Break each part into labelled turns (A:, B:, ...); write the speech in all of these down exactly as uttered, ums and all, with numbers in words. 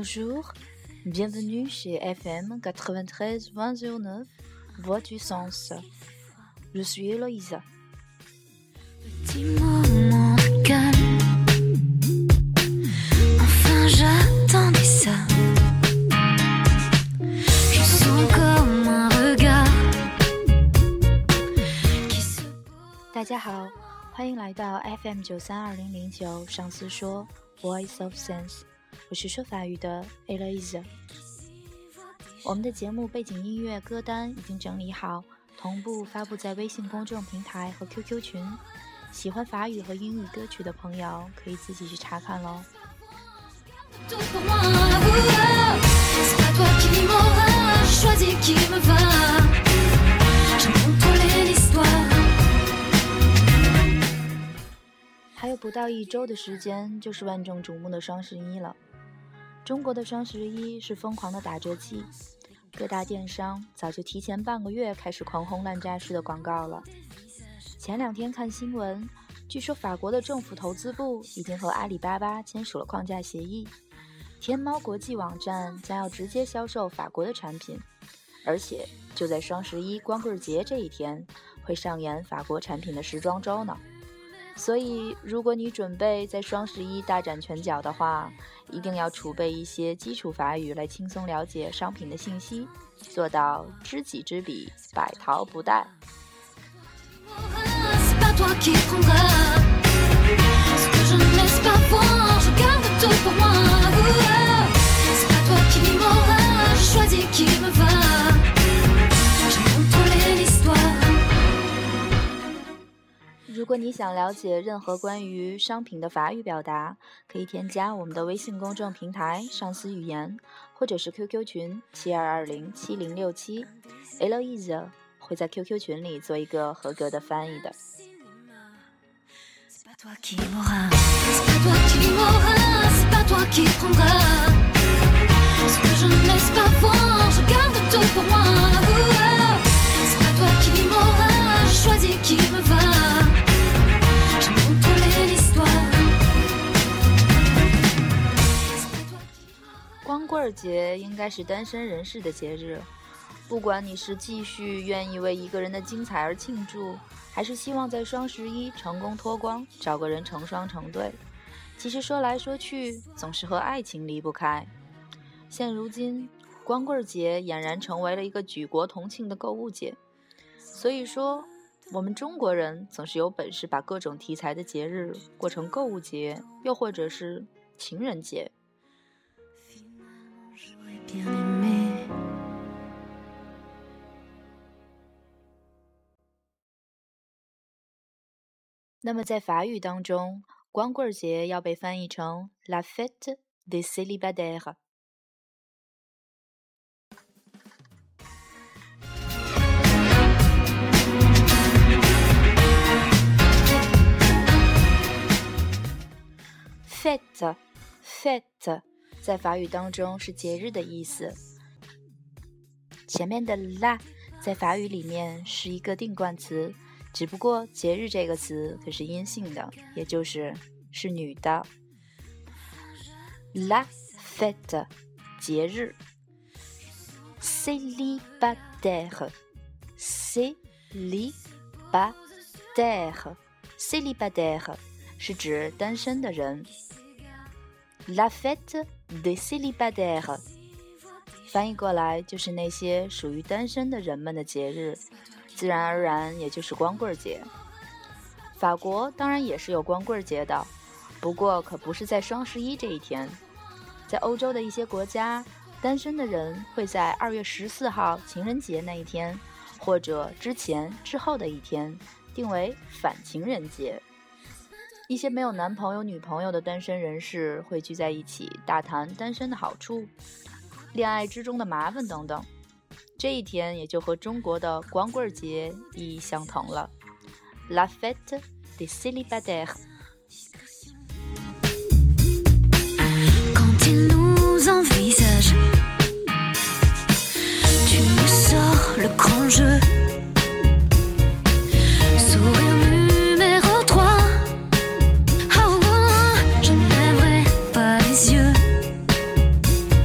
A: Bonjour, bienvenue chez F M quatre-vingt-treize point zéro neuf, Voix du Sens. Je suis Héloïse.
B: Petit moment de calme, enfin j'attendais ça. Je sens comme un regard qui se pose.
A: 大家好，欢迎来到 F M 九三二零零九上司说 Voice of Sense， 我是说法语的 Héloïse。我们的节目背景音乐歌单已经整理好，同步发布在微信公众平台和 Q Q 群。喜欢法语和英语歌曲的朋友可以自己去查看咯。还有不到一周的时间就是万众瞩目的双十一了。中国的双十一是疯狂的打折季，各大电商早就提前半个月开始狂轰滥炸式的广告了。前两天看新闻，据说法国的政府投资部已经和阿里巴巴签署了框架协议，天猫国际网站将要直接销售法国的产品，而且就在双十一光棍节这一天会上演法国产品的时装周呢。所以如果你准备在双十一大展拳脚的话，一定要储备一些基础法语来轻松了解商品的信息，做到知己知彼，百淘不殆。如果你想了解任何关于商品的法语表达，可以添加我们的微信公众平台上司语言，或者是 Q Q 群七二二零七零六七 Héloïse 会在 Q Q 群里做一个合格的翻译的。光棍节应该是单身人士的节日，不管你是继续愿意为一个人的精彩而庆祝，还是希望在双十一成功脱光，找个人成双成对，其实说来说去总是和爱情离不开。现如今光棍节俨然成为了一个举国同庆的购物节，所以说我们中国人总是有本事把各种题材的节日过成购物节，又或者是情人节。那么在法语当中，光棍节要被翻译成 La fête des célibataires。 Fête Fête 在法语当中是节日的意思，前面的 la 在法语里面是一个定冠词，只不过节日这个词可是阴性的，也就是是女的。 La fête 节日， célibataire célibataire célibataire 是指单身的人。 La fête des célibataires 翻译过来就是那些属于单身的人们的节日，自然而然也就是光棍节。法国当然也是有光棍节的，不过可不是在双十一这一天。在欧洲的一些国家，单身的人会在二月十四号情人节那一天，或者之前之后的一天，定为反情人节。一些没有男朋友女朋友的单身人士会聚在一起大谈单身的好处，恋爱之中的麻烦等等，这一天也就和中国的光棍节意义相同了。 La fête des célibataires。
C: Quand il nous envisage, tu me sors le grand jeu. Sourire numéro trois. Oh, oh, je ne lèverai pas les yeux.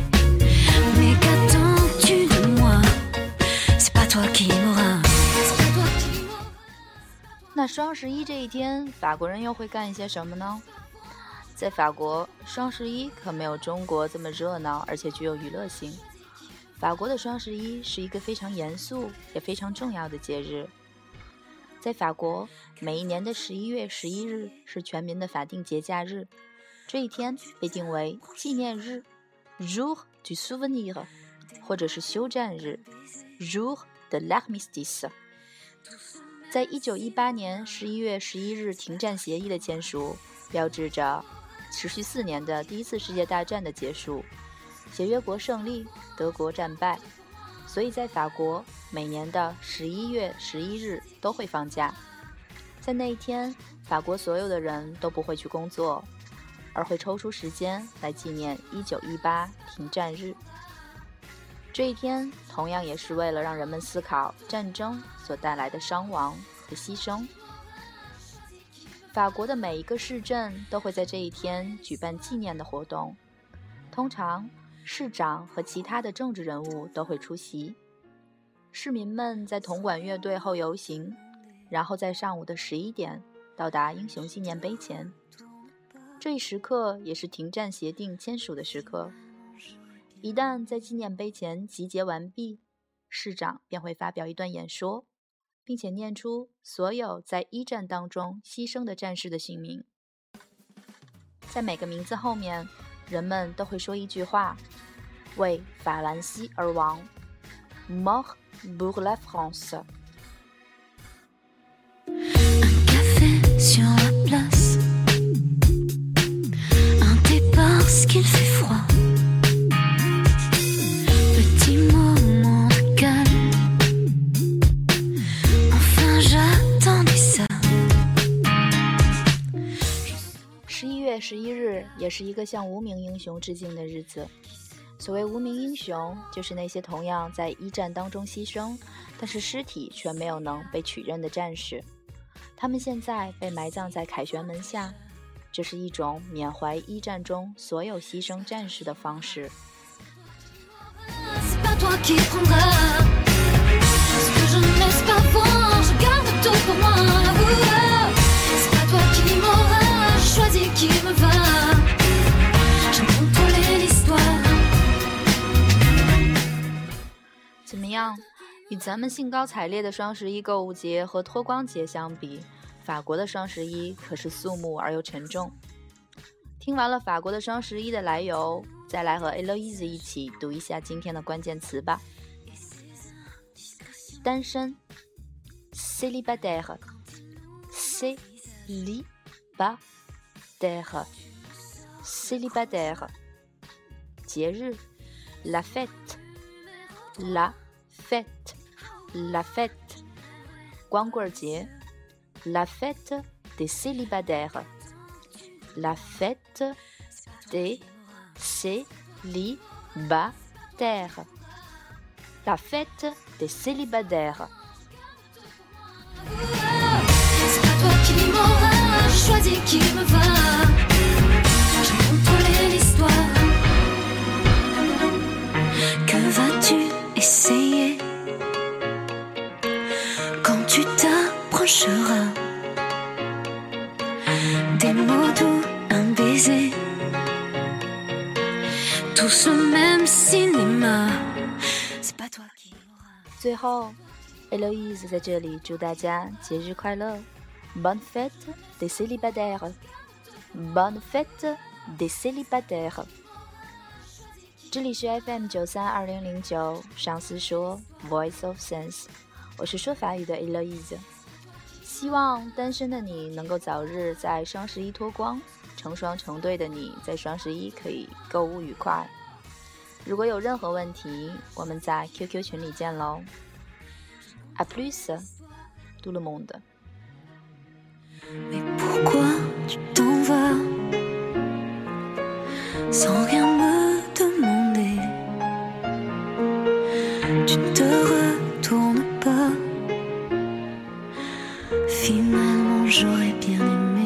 A: 那双十一这一天，法国人又会干一些什么呢？在法国，双十一可没有中国这么热闹，而且具有娱乐性。法国的双十一是一个非常严肃也非常重要的节日。在法国，每一年的十一月十一日是全民的法定节假日，这一天被定为纪念日 Jour du Souvenir， 或者是休战日 Jour de l'Armistice。在一九一八年十一月十一日停战协议的签署，标志着持续四年的第一次世界大战的结束。协约国胜利，德国战败，所以在法国每年的十一月十一日都会放假。在那一天，法国所有的人都不会去工作，而会抽出时间来纪念一九一八停战日。这一天同样也是为了让人们思考战争所带来的伤亡和牺牲。法国的每一个市镇都会在这一天举办纪念的活动，通常市长和其他的政治人物都会出席。市民们在铜管乐队后游行，然后在上午的十一点到达英雄纪念碑前。这一时刻也是停战协定签署的时刻。一旦在纪念碑前集结完毕，市长便会发表一段演说，并且念出所有在一战当中牺牲的战士的姓名。在每个名字后面，人们都会说一句话：为法兰西而亡 Mort pour la France。
C: Un café sur la place, un thé parce qu'il fait froid, petit moment de calme, enfin j'attendais ça。
A: 十一月十一日也是一个向无名英雄致敬的日子。所谓无名英雄，就是那些同样在一战当中牺牲，但是尸体却没有能被取认的战士。他们现在被埋葬在凯旋门下，这是一种缅怀一战中所有牺牲战士的方式。怎么样？与咱们兴高采烈的双十一购物节和脱光节相比，法国的双十一可是肃穆而又沉重。听完了法国的双十一的来由，再来和 Eloise 一起读一下今天的关键词吧。单身 célibataire célibataire célibataire 节日 la fête la fête la fête 光棍节 la fête des célibataires la fête des célibataires la fête des célibataires。
C: C'est pas toi qui m'auras choisi, qui me va. Je contrôlais l'histoire. Que vas-tu essayer quand tu t'approcheras des mots doux, un baiser, tout ce même cinéma. C'est pas toi qui m'auras.
A: 最后 Eloise 在这里祝大家节日快乐 Bonne fête des célibataires Bonne fête des célibataires。 这里是 F M 九三二零零九上司说 Voice of Sense， 我是说法语的 Eloise。 希望单身的你能够早日在双十一脱光，成双成对的你在双十一可以购物愉快。如果有任何问题，我们在 Q Q 群里见喽。À plus, tout le monde.
C: Mais pourquoi tu t'en vas sans rien me demander? Tu ne te retournes pas. Finalement, j'aurais bien aimé